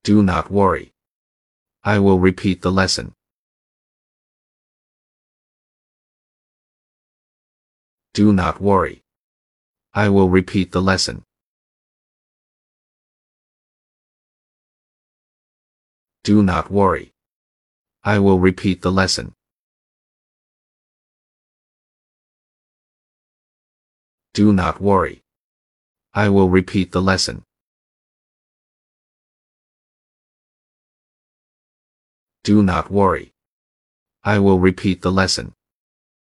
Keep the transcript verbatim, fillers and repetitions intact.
Do not worry. I will repeat the lesson. Do not worry. I will repeat the lesson. Do not worry. I will repeat the lesson. Do not worry. I will repeat the lesson. Do not worry. I will repeat the lesson.